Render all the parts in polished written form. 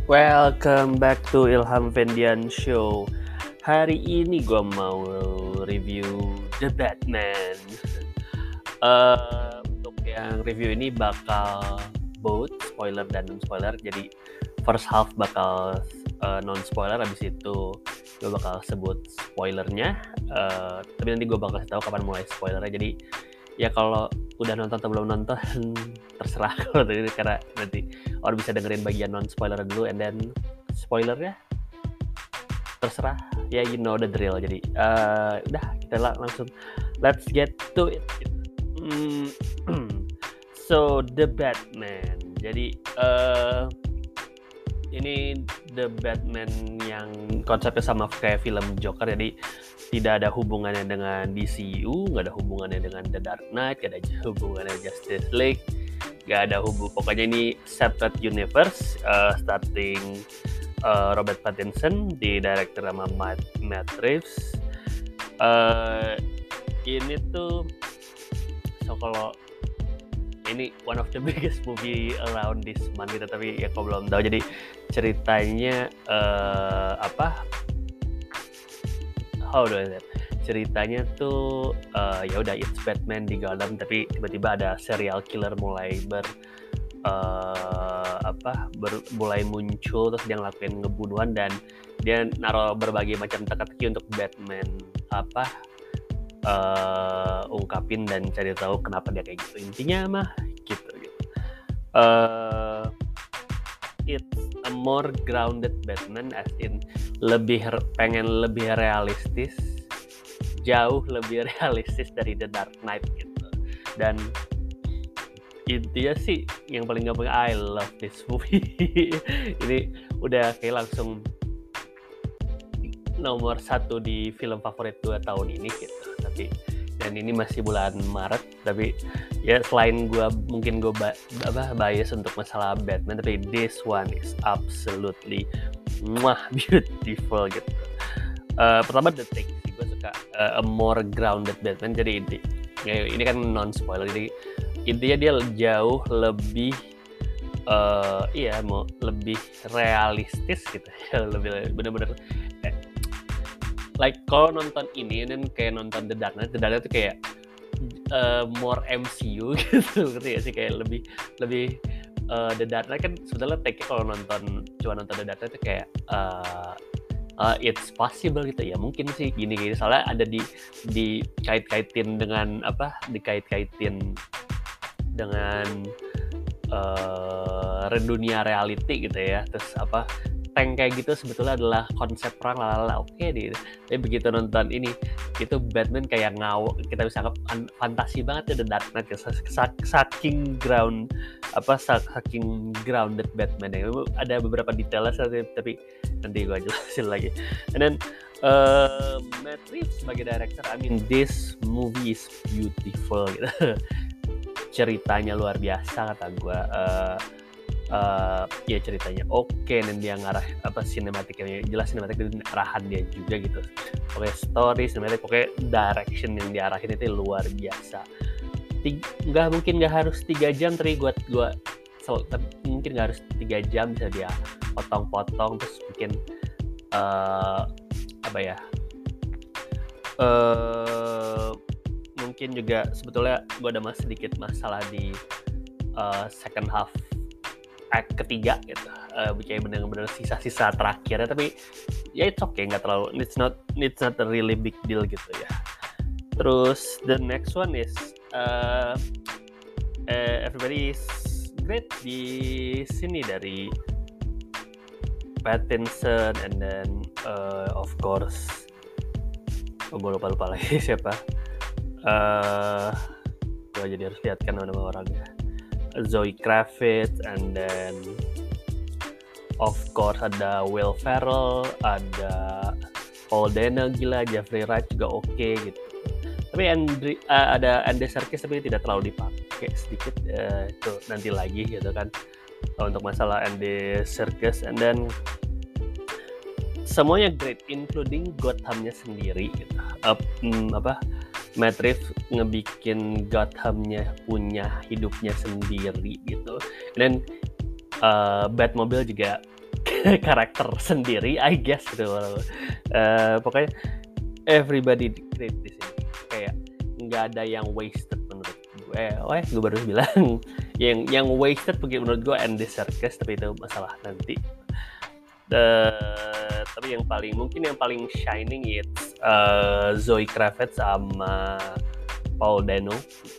Welcome back to Ilham Vendian Show. Hari ini gue mau review The Batman. Untuk yang review ini bakal both spoiler dan non-spoiler. Jadi first half bakal non-spoiler, habis itu gue bakal sebut spoilernya. Tapi nanti gue bakal kasih tahu kapan mulai spoilernya. Jadi ya kalau udah nonton atau belum nonton terserah kalau ini, karena nanti orang bisa dengerin bagian non spoiler dulu and then spoilernya terserah ya, you know the drill. Jadi udah kita langsung let's get to it. So The Batman, jadi ini The Batman yang konsepnya sama kayak film Joker, jadi tidak ada hubungannya dengan DCU, nggak ada hubungannya dengan The Dark Knight, nggak ada hubungannya Justice League, nggak ada pokoknya ini separate universe. Starting Robert Pattinson, di director sama Matt Reeves. Ini tuh kalau ini one of the biggest movie around this month gitu, tapi ya kalau belum tahu, jadi ceritanya how do I say? Ceritanya tuh ya udah it's Batman di Gotham, tapi tiba-tiba ada serial killer mulai mulai muncul, terus dia ngelakuin ngebunuhan dan dia naruh berbagai macam teka-teki untuk Batman ungkapin dan cari tahu kenapa dia kayak gitu. Intinya mah gitu. It's a more grounded Batman, as in pengen lebih realistis, jauh lebih realistis dari The Dark Knight gitu. Dan intinya sih yang paling gampang, I love this movie. Ini udah kayak langsung nomor 1 di film favorit 2 tahun ini gitu. Dan ini masih bulan Maret, tapi ya selain gue bias untuk masalah Batman, tapi this one is absolutely beautiful gitu. Pertama The Take sih, gue suka a more grounded Batman. Jadi ini kan non spoiler, jadi intinya dia jauh lebih lebih realistis gitu ya, lebih bener-bener like kalau nonton ini dan kayak nonton The Dark Knight itu kayak more MCU gitu, ngerti gak sih? Kayak lebih The Dark Knight kan sebenarnya take kalau cuma nonton The Dark Knight itu kayak it's possible gitu ya, mungkin sih gini soalnya ada dikait-kaitin dengan dunia reality gitu ya, terus tank kayak gitu sebetulnya adalah konsep perang oke deh. Tapi begitu nonton ini, itu Batman kayak kita bisa anggap fantasi banget ya The Dark Knight, saking grounded Batman ya. Ada beberapa detailnya tapi nanti gue jelasin lagi. And then Matt Reeves sebagai director, I mean this movie is beautiful gitu. Ceritanya luar biasa kata gue. Ya ceritanya oke, dan dia ngarah sinematiknya jelas, sinematik dan arahan dia juga gitu. Pokoknya story, sinematik, pokoknya direction yang diarahin itu luar biasa. Nggak harus 3 jam, tapi mungkin nggak harus 3 jam, bisa dia potong-potong, terus bikin mungkin juga sebetulnya gue ada sedikit masalah di second half act ketiga gitu, kayak benar-benar sisa-sisa terakhirnya, tapi ya it's okay, nggak terlalu, it's not a really big deal gitu ya. Terus the next one is everybody is great di sini, dari Pattinson and then of course gue lupa lagi siapa. Gue jadi harus lihatkan nama orangnya. Zoe Kravitz, and then of course ada Will Ferrell, ada Paul Dano, gila, Jeffrey Wright juga oke gitu. Tapi ada Andy Serkis, tapi tidak terlalu dipakai, sedikit itu nanti lagi gitu kan untuk masalah Andy Serkis. And then semuanya great, including Gothamnya sendiri gitu. Matt Reeves ngebikin Gothamnya punya hidupnya sendiri gitu. Dan Batmobile juga karakter sendiri, I guess gitu. Pokoknya everybody great di sini. Kayak nggak ada yang wasted menurut gue. Gue baru bilang yang wasted menurut gue Andy Serkis, tapi itu masalah nanti. Tapi yang paling shining it's Zoe Kravitz sama Paul Dano.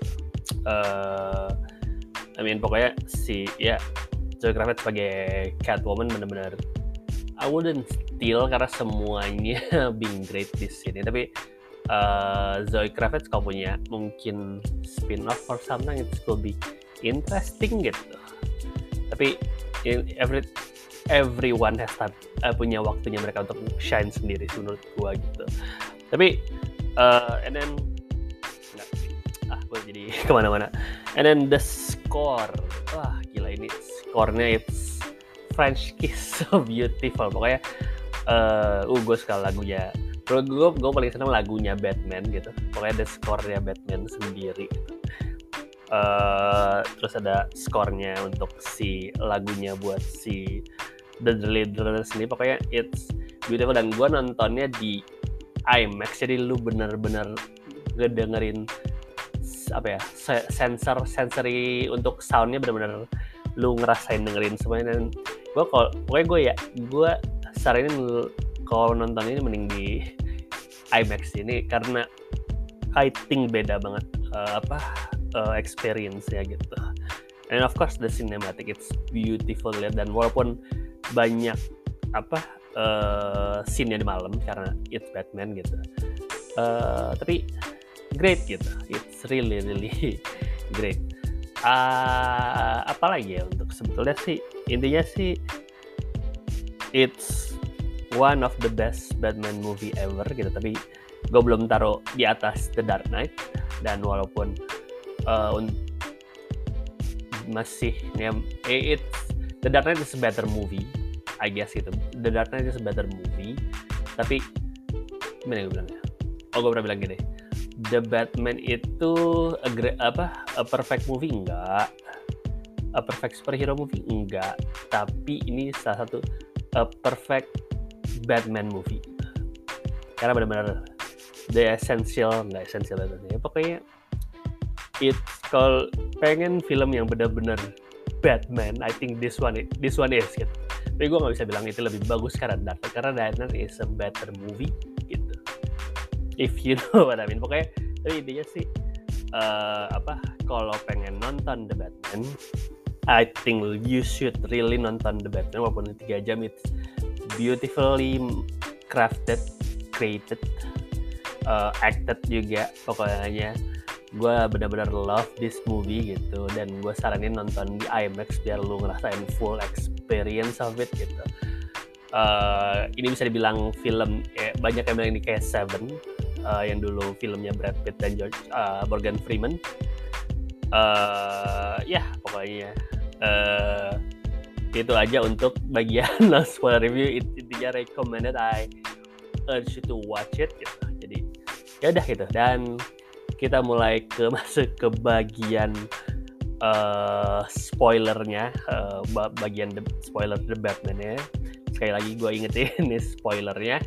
Pokoknya Zoe Kravitz sebagai Catwoman benar-benar I wouldn't steal karena semuanya being great di sini. Tapi Zoe Kravitz kalau punya mungkin spin-off or something, it could be interesting gitu. Tapi everyone has punya waktunya mereka untuk shine sendiri menurut gua gitu. Tapi and then gue jadi kemana-mana. And then the score, gila ini score-nya it's French Kiss, so beautiful. Pokoknya gue suka lagunya. Gue paling senang lagunya Batman gitu. Pokoknya ada score-nya Batman sendiri gitu. Terus ada score-nya untuk si lagunya buat si The Leader sendiri. Pokoknya it's beautiful, dan gue nontonnya di IMAX, jadi lu bener-bener ngedengerin sensory untuk soundnya benar-benar lu ngerasain dengerin semuanya. Dan gue saranin kalau nonton ini mending di IMAX ini karena I think beda banget experience-nya gitu. And of course the cinematic it's beautiful lihat, dan walaupun banyak scene-nya di malam karena it's Batman gitu, tapi great gitu, it's really great. Apalagi ya untuk sebetulnya sih intinya sih it's one of the best Batman movie ever gitu. Tapi gue belum taruh di atas The Dark Knight, dan walaupun masih The Dark Knight is a better movie I guess gitu. The Dark Knight is a better movie, tapi gimana gue bilangnya? Gue pernah bilang gini, The Batman itu a perfect movie enggak, a perfect superhero movie enggak, tapi ini salah satu a perfect Batman movie karena benar-benar the essential Batman. Pokoknya kalau pengen film yang benar-benar Batman, I think this one is gitu. Tapi gue nggak bisa bilang itu lebih bagus karena Dark Knight is a better movie gitu. If you know what I mean. Pokoknya tapi intinya sih kalau pengen nonton The Batman, I think you should really nonton The Batman. Walaupun 3 jam, it's beautifully crafted, created, acted juga. Pokoknya gue benar-benar love this movie gitu, dan gue saranin nonton di IMAX biar lu ngerasain full experience of it gitu. Ini bisa dibilang film banyak yang bilang ini kayak Seven, yang dulu filmnya Brad Pitt dan Morgan Freeman. Pokoknya itu aja untuk bagian spoiler review. Intinya recommended, I urge you to watch it gitu. Jadi ya udah gitu, dan kita mulai masuk ke bagian spoilernya, bagian spoiler The Batman-nya. Sekali lagi gue ingetin ini spoilernya.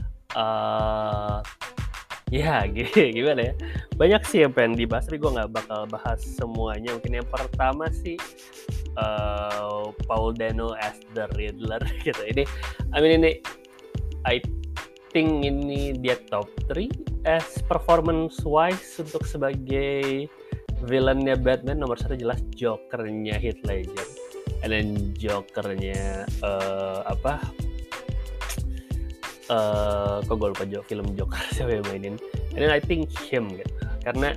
Gimana ya? Banyak sih yang pengen dibahas, tapi gue nggak bakal bahas semuanya. Mungkin yang pertama sih Paul Dano as the Riddler gitu. Ini I think ini dia top 3 as performance wise untuk sebagai villainnya Batman. Nomor 1 jelas Joker-nya Heath Ledger, and then Joker-nya kok gue lupa film Joker siapa yang mainin. And then I think him gitu, karena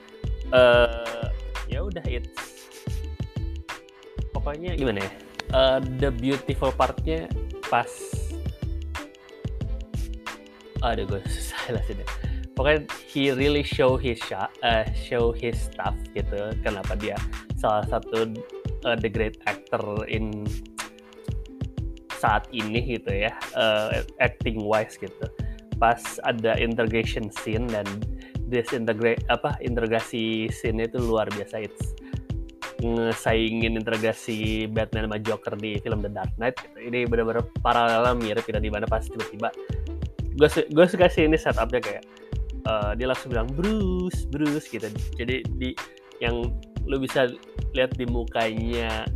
ya udah it's pokoknya gimana ya, the beautiful partnya pas gue susah jelasin. Pokoknya he really show his stuff gitu. Kenapa dia salah satu the great actor in saat ini gitu ya, acting wise gitu. Pas ada integration scene, dan integrasi scene itu luar biasa. It's ngesaingin integrasi Batman sama Joker di film The Dark Knight gitu. Ini benar-benar paralel mirip gitu, di mana pas tiba-tiba gue suka sih ini setupnya kayak dia langsung bilang Bruce gitu. Jadi di yang lu bisa lihat di mukanya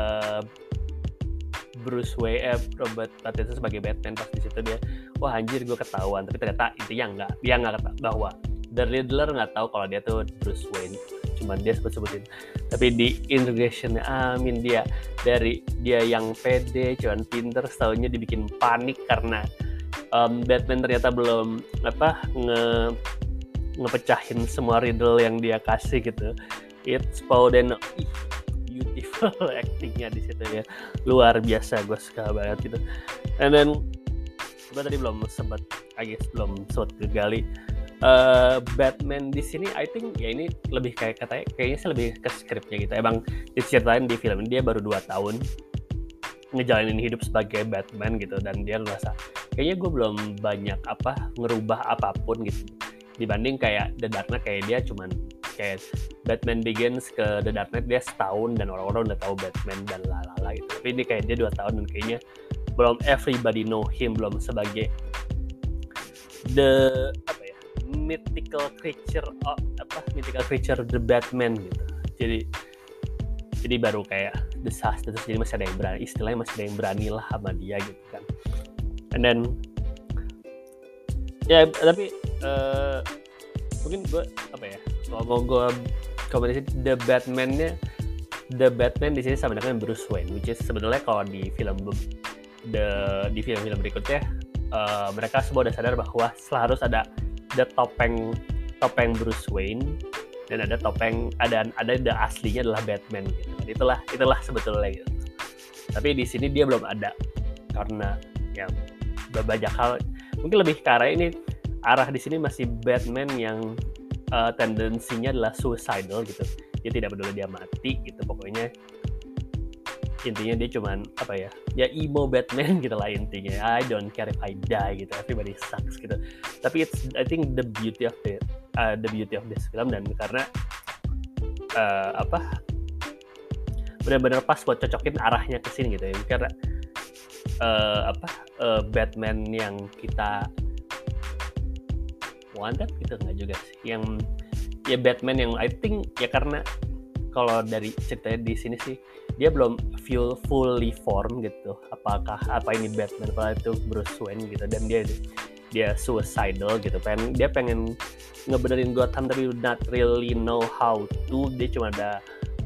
Robert Pattinson sebagai Batman pas di situ dia, wah anjir gue ketahuan, tapi ternyata intinya dia nggak ketahuan bahwa The Riddler nggak tahu kalau dia tuh Bruce Wayne, cuman dia sebutin. Tapi di integrationnya, amin, dia dari dia yang pede, cuman pinter, setaunya dibikin panik karena Batman ternyata belum ngepecahin semua riddle yang dia kasih gitu. It's Paudeno, beautiful actingnya di situ ya, luar biasa, gue suka banget gitu. And then gue tadi belum sempat kegali Batman di sini. I think ya ini lebih kayaknya sih lebih ke skripnya gitu. Emang diceritain di film ini dia baru 2 tahun ngejalanin hidup sebagai Batman gitu, dan dia ngerasa kayaknya gue belum banyak ngerubah apapun gitu dibanding kayak The Dark Knight. Kayak dia cuman kayak Batman Begins ke The Dark Knight dia setahun dan orang-orang udah tahu Batman dan lalala gitu. Tapi ini kayak dia 2 tahun dan kayaknya belum everybody know him, belum sebagai the mythical creature the Batman gitu. Jadi baru kayak desas, jadi masih ada yang berani, istilahnya masih ada yang berani lah sama dia gitu kan. And then ya tapi mungkin gue kalau gue komentar the Batman di sini sama dengan Bruce Wayne, which is sebenarnya kalau di film berikutnya mereka semua udah sadar bahwa harus ada topeng Bruce Wayne dan ada the aslinya adalah Batman gitu. Itulah sebetulnya gitu. Tapi di sini dia belum ada karena ya banyak hal, mungkin lebih ke arah ini, arah di sini masih Batman yang tendensinya adalah suicidal gitu. Dia tidak peduli dia mati gitu, pokoknya intinya dia cuman ya emo Batman gitu lah intinya. I don't care if I die gitu, everybody sucks gitu. Tapi I think the beauty of this film, dan karena benar-benar pas buat cocokin arahnya ke sini gitu ya, karena Batman yang kita wanted gitu nggak juga sih, yang ya Batman yang I think ya, karena kalau dari ceritanya di sini sih dia belum fully form gitu, apakah ini Batman atau itu Bruce Wayne gitu, dan dia suicidal gitu, dia pengen ngebenerin Gotham tapi not really know how to. Dia cuma ada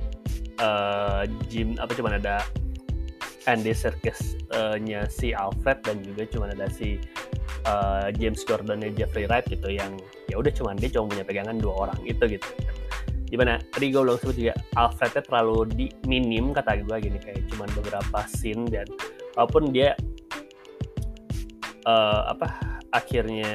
cuma ada Andy Serkis-nya si Alfred, dan juga cuma ada si James Gordon-nya Jeffrey Wright gitu, yang ya udah dia cuma punya pegangan 2 orang itu gitu. Gimana tadi gue belum sebut juga, Alfrednya terlalu minim kata gue gini, kayak cuma beberapa scene, dan walaupun dia akhirnya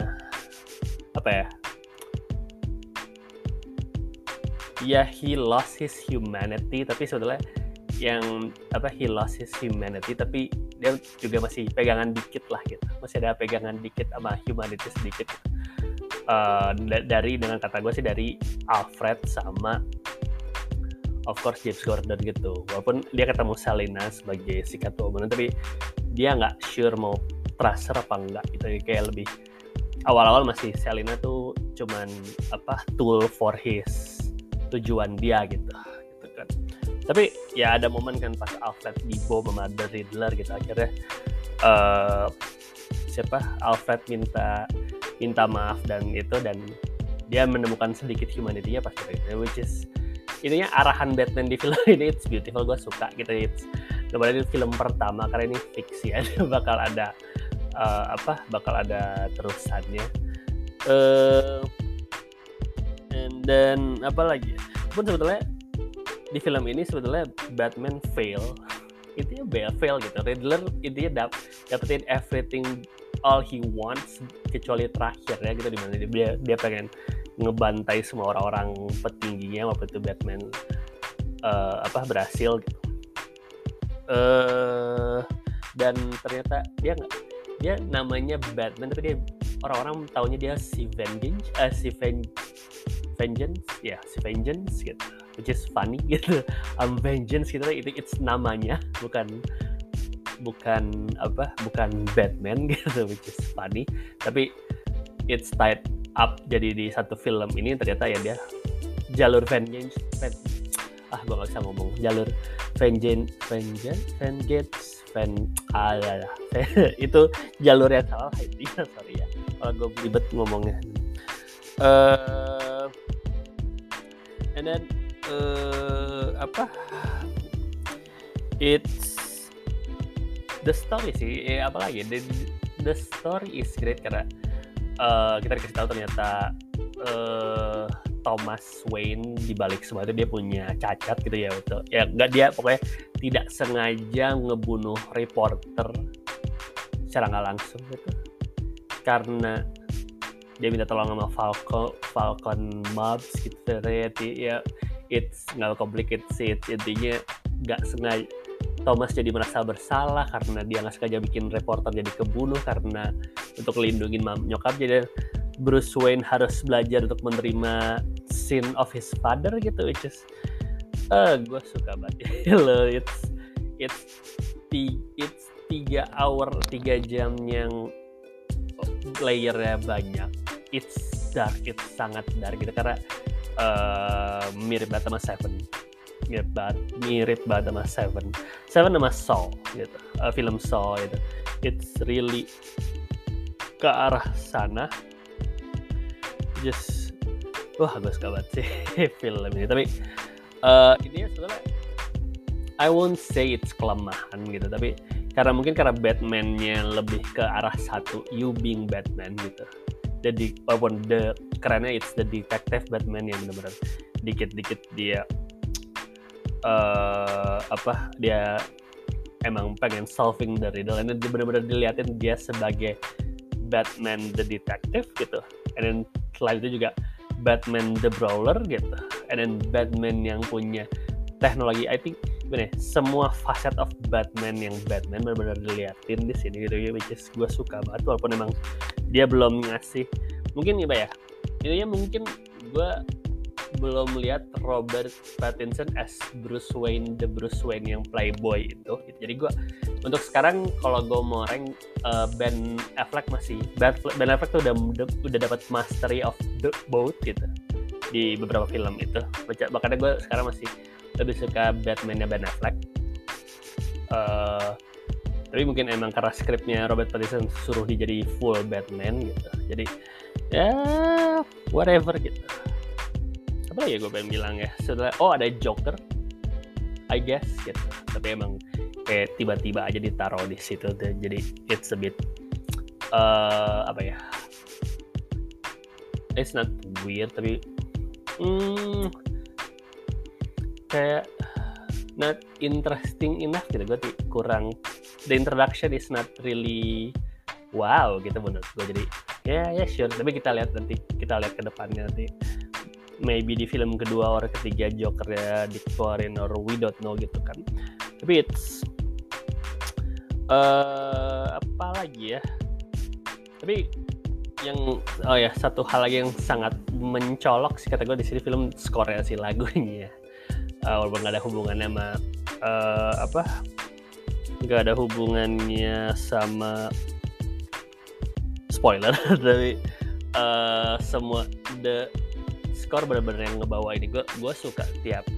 ya he lost his humanity, tapi sebetulnya yang he lost his humanity, tapi dia juga masih pegangan dikit lah gitu, masih ada pegangan dikit sama humanity sedikit gitu. Dengan kata gue sih dari Alfred sama of course James Gordon gitu. Walaupun dia ketemu Selina sebagai si Catwoman, tapi dia nggak sure mau transfer apa enggak gitu. Kayak lebih awal-awal masih Selina tuh cuman tool for his tujuan dia gitu kan. Tapi ya ada momen kan pas Alfred dibom sama The Riddler gitu, akhirnya Alfred minta maaf dan dia menemukan sedikit humanity-nya pas itu, which is intinya arahan Batman di film ini. It's beautiful, gue suka gitu. Kemudian ini film pertama karena ini fiksi ya, bakal ada terusannya. And then apa lagi? Pun sebetulnya di film ini sebetulnya Batman fail gitu. Riddler intinya dapetin everything, all he wants, kecuali terakhir ya gitu, dimana dia pengen ngebantai semua orang-orang petingginya waktu itu Batman berhasil gitu. Dan ternyata dia namanya Batman, tapi dia orang-orang taunya dia si Vengeance gitu. which is funny gitu. Vengeance gitu, it's namanya, bukan Batman gitu, which is funny, tapi it's tied up jadi di satu film ini ternyata ya dia jalur vengeance gue nggak bisa ngomong, jalur vengeance itu jalur yang salah intinya, sorry ya kalau gue belibet ngomongnya. And then it's the story sih, apalagi the story is great karena kita dikasih tahu ternyata Thomas Wayne di balik semua itu dia punya cacat gitu ya, betul. Ya enggak, dia pokoknya tidak sengaja ngebunuh reporter secara nggak langsung gitu. Karena dia minta tolong sama Falcon Mobs gitu. Ya it's nggak complicated sih, intinya nggak sengaja Thomas jadi merasa bersalah karena dia nggak sengaja bikin reporter jadi kebunuh karena untuk lindungin nyokap, jadi Bruce Wayne harus belajar untuk menerima sin of his father gitu, which is gue suka banget loh. It's 3 jam yang layernya banyak. It's dark, it's sangat dark gitu karena mirip banget sama Seven, mirip banget sama Seven sama Saw gitu, film Saw gitu. It's really ke arah sana. Just gue suka banget sih film ini, tapi ini sebenarnya I won't say it's kelemahan gitu, tapi karena Batman-nya lebih ke arah satu, you being Batman gitu. Jadi walaupun kerennya it's the detective Batman yang benar-benar dikit-dikit dia dia emang pengen solving the riddle, and dia benar-benar diliatin dia sebagai Batman the detective gitu, and then selain itu juga Batman the brawler gitu, and then Batman yang punya teknologi. I think semua facet of Batman yang Batman benar-benar diliatin di sini gitu ya, which is gue suka banget walaupun emang dia belum ngasih, mungkin ya intinya mungkin gue belum lihat Robert Pattinson as Bruce Wayne, the Bruce Wayne yang playboy itu. Jadi gue untuk sekarang kalau gue mau rank Ben Affleck tuh udah dapat mastery of both gitu di beberapa film itu. Makanya gue sekarang masih lebih suka Batman-nya Ben Affleck. Tapi mungkin emang karena skripnya Robert Pattinson suruh dia jadi full Batman gitu. Jadi ya whatever gitu. Apa ya gue pengen bilang ya, setelah ada Joker I guess gitu, tapi emang kayak tiba-tiba aja ditaruh di situ tuh, jadi it's a bit it's not weird, tapi kayak not interesting enough gitu. Gue kurang, the introduction is not really wow gitu menurut gue. Jadi ya sure, tapi kita lihat ke depannya nanti. Maybe di film kedua atau ketiga Joker ya dikeluarin, or we don't know gitu kan. Tapi it's apa lagi ya, tapi yang satu hal lagi yang sangat mencolok sih kata gue di sini, film skornya sih, lagunya walaupun nggak ada hubungannya sama nggak ada hubungannya sama spoiler tapi semua the skor benar-benar yang ngebawa ini. Gue suka tiap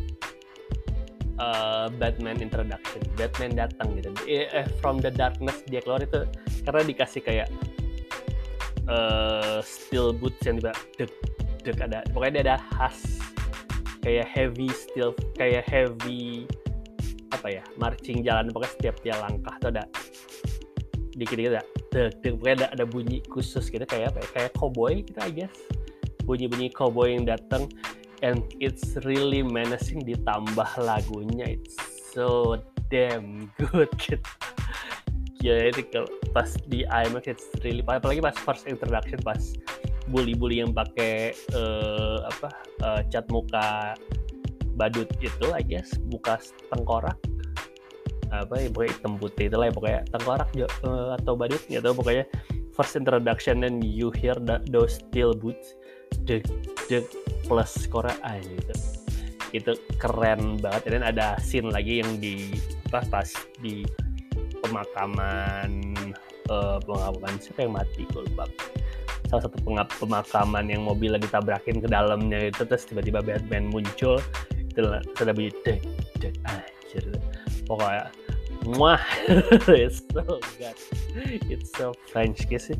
Batman introduction, Batman datang gitu, from the darkness dia keluar itu, karena dikasih kayak steel boots yang tiba dek ada, pokoknya dia ada khas kayak heavy steel, kayak heavy marching jalan, pokoknya setiap dia langkah tuh ada dikit-dikit ada dek, pokoknya ada bunyi khusus gitu, kayak kayak cowboy gitu I guess, bunyi-bunyi cowboy yang datang, and it's really menacing, ditambah lagunya it's so damn good gitu. Ya itu kalau pas di IMAX it's really, apalagi pas first introduction, pas bully-bully yang pakai cat muka badut itu I guess, muka tengkorak pokoknya hitam putih itulah ya, pokoknya tengkorak atau badut gitu, pokoknya first introduction and you hear those steel boots deg plus skornya gitu, itu keren banget. Dan ada scene lagi yang di pas di pemakaman siapa yang mati, gue lupa. Salah satu pemakaman yang mobilnya ditabrakin ke dalamnya itu, terus tiba-tiba Batman muncul, itu sudah bunyi dek anjir, pokoknya muah. It's so good, it's so French kiss.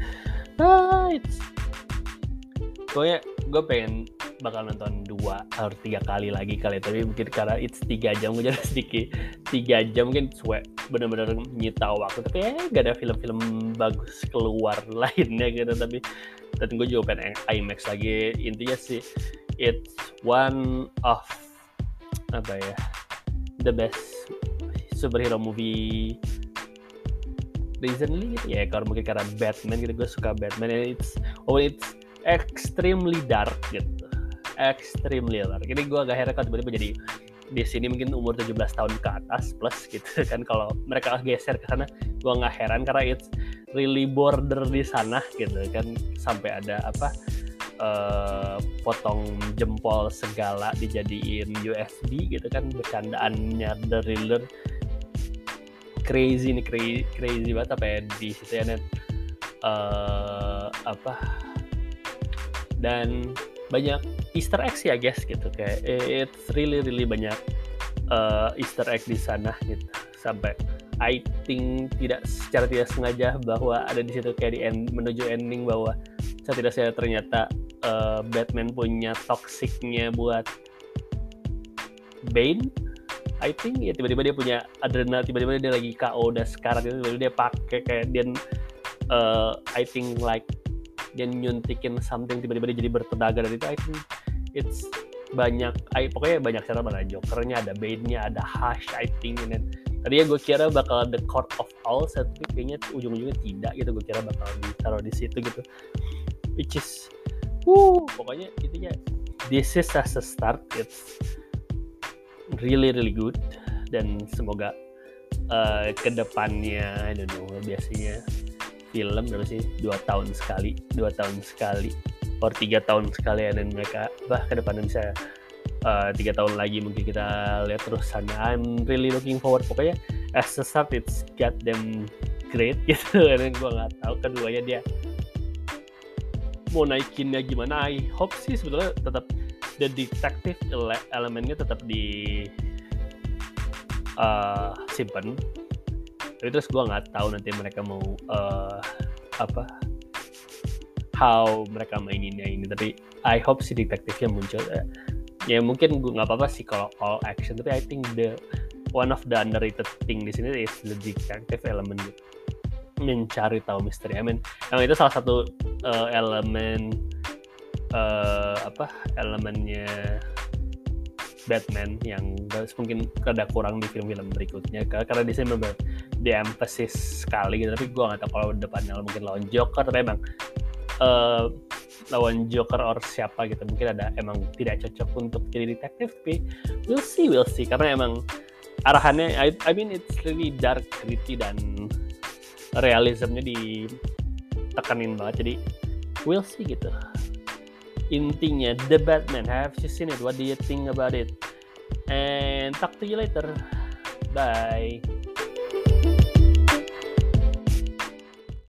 Pokoknya gue pengen bakal nonton 2 atau 3 kali lagi kali, tapi mungkin karena it's 3 jam gue jadi sedikit 3 jam mungkin benar-benar nyita waktu, tapi gak ada film-film bagus keluar lainnya gitu. Tapi dan gue juga pengen IMAX lagi. Intinya sih it's one of the best superhero movie recently gitu ya. Kalau mungkin karena Batman gitu, gue suka Batman, and it's extremely dark gitu, extremely dark. Jadi gue agak heran kalau tiba-tiba jadi di sini mungkin umur 17 tahun ke atas plus gitu kan. Kalau mereka geser ke sana, gue nggak heran karena it's really border di sana gitu kan, sampai ada potong jempol segala dijadiin USB gitu kan, bercandaannya The Riddler. Crazy banget apa ya di situ ya, net dan banyak Easter egg sih, I guess gitu. Kayak it's really banyak Easter egg di sana gitu, sampai I think secara tidak sengaja bahwa ada di situ kayak menuju ending bahwa saya ternyata Batman punya toxicnya buat Bane. I think ya tiba-tiba dia punya adrenal, tiba-tiba dia lagi KO udah sekarat itu, tiba-tiba dia pakai kayak dia I think like dia nyuntikin something, tiba-tiba dia jadi bertenaga. Dan itu I think it's pokoknya banyak cara, ada Jokernya, ada Bane-nya, ada Hush I think. And tadinya gue kira bakal The Court of Owls, tapi kayaknya ujung-ujungnya tidak gitu. Gue kira bakal ditaruh di situ gitu, which is pokoknya intinya this is as a start, it's really good. Dan semoga kedepannya I don't know, biasanya film berapa sih 2 tahun sekali or 3 tahun sekali, dan mereka kedepannya bisa 3 tahun lagi mungkin kita lihat terusannya. I'm really looking forward. Pokoknya as a start it's got them great gitu. Dan gue nggak tahu keduanya dia mau naikinnya gimana. I hope sih sebetulnya tetap the detective elemennya tetap di simpen. Tapi terus gue nggak tahu nanti mereka mau how mereka maininnya ini. Tapi I hope si detektifnya muncul. Ya mungkin gue nggak apa-apa sih kalau all action, tapi I think one of the underrated thing di sini is the detective element gitu, mencari tahu misteri. I mean, yang itu salah satu elemennya Batman yang mungkin rada kurang di film-film berikutnya, karena di sini memang di-emphasis sekali gitu. Tapi gue nggak tahu kalau depannya mungkin lawan Joker, tapi emang lawan Joker or siapa gitu mungkin ada emang tidak cocok untuk jadi detektif. Tapi we'll see karena emang arahannya I mean it's really dark, gritty, dan realismnya ditekanin banget. Jadi we'll see gitu. Intinya The Batman, have you seen it? What do you think about it? And talk to you later. Bye.